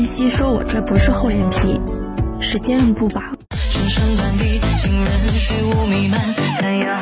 西说我这不是厚脸皮，是坚韧不拔。 深深断地，行人虚无弥漫，太阳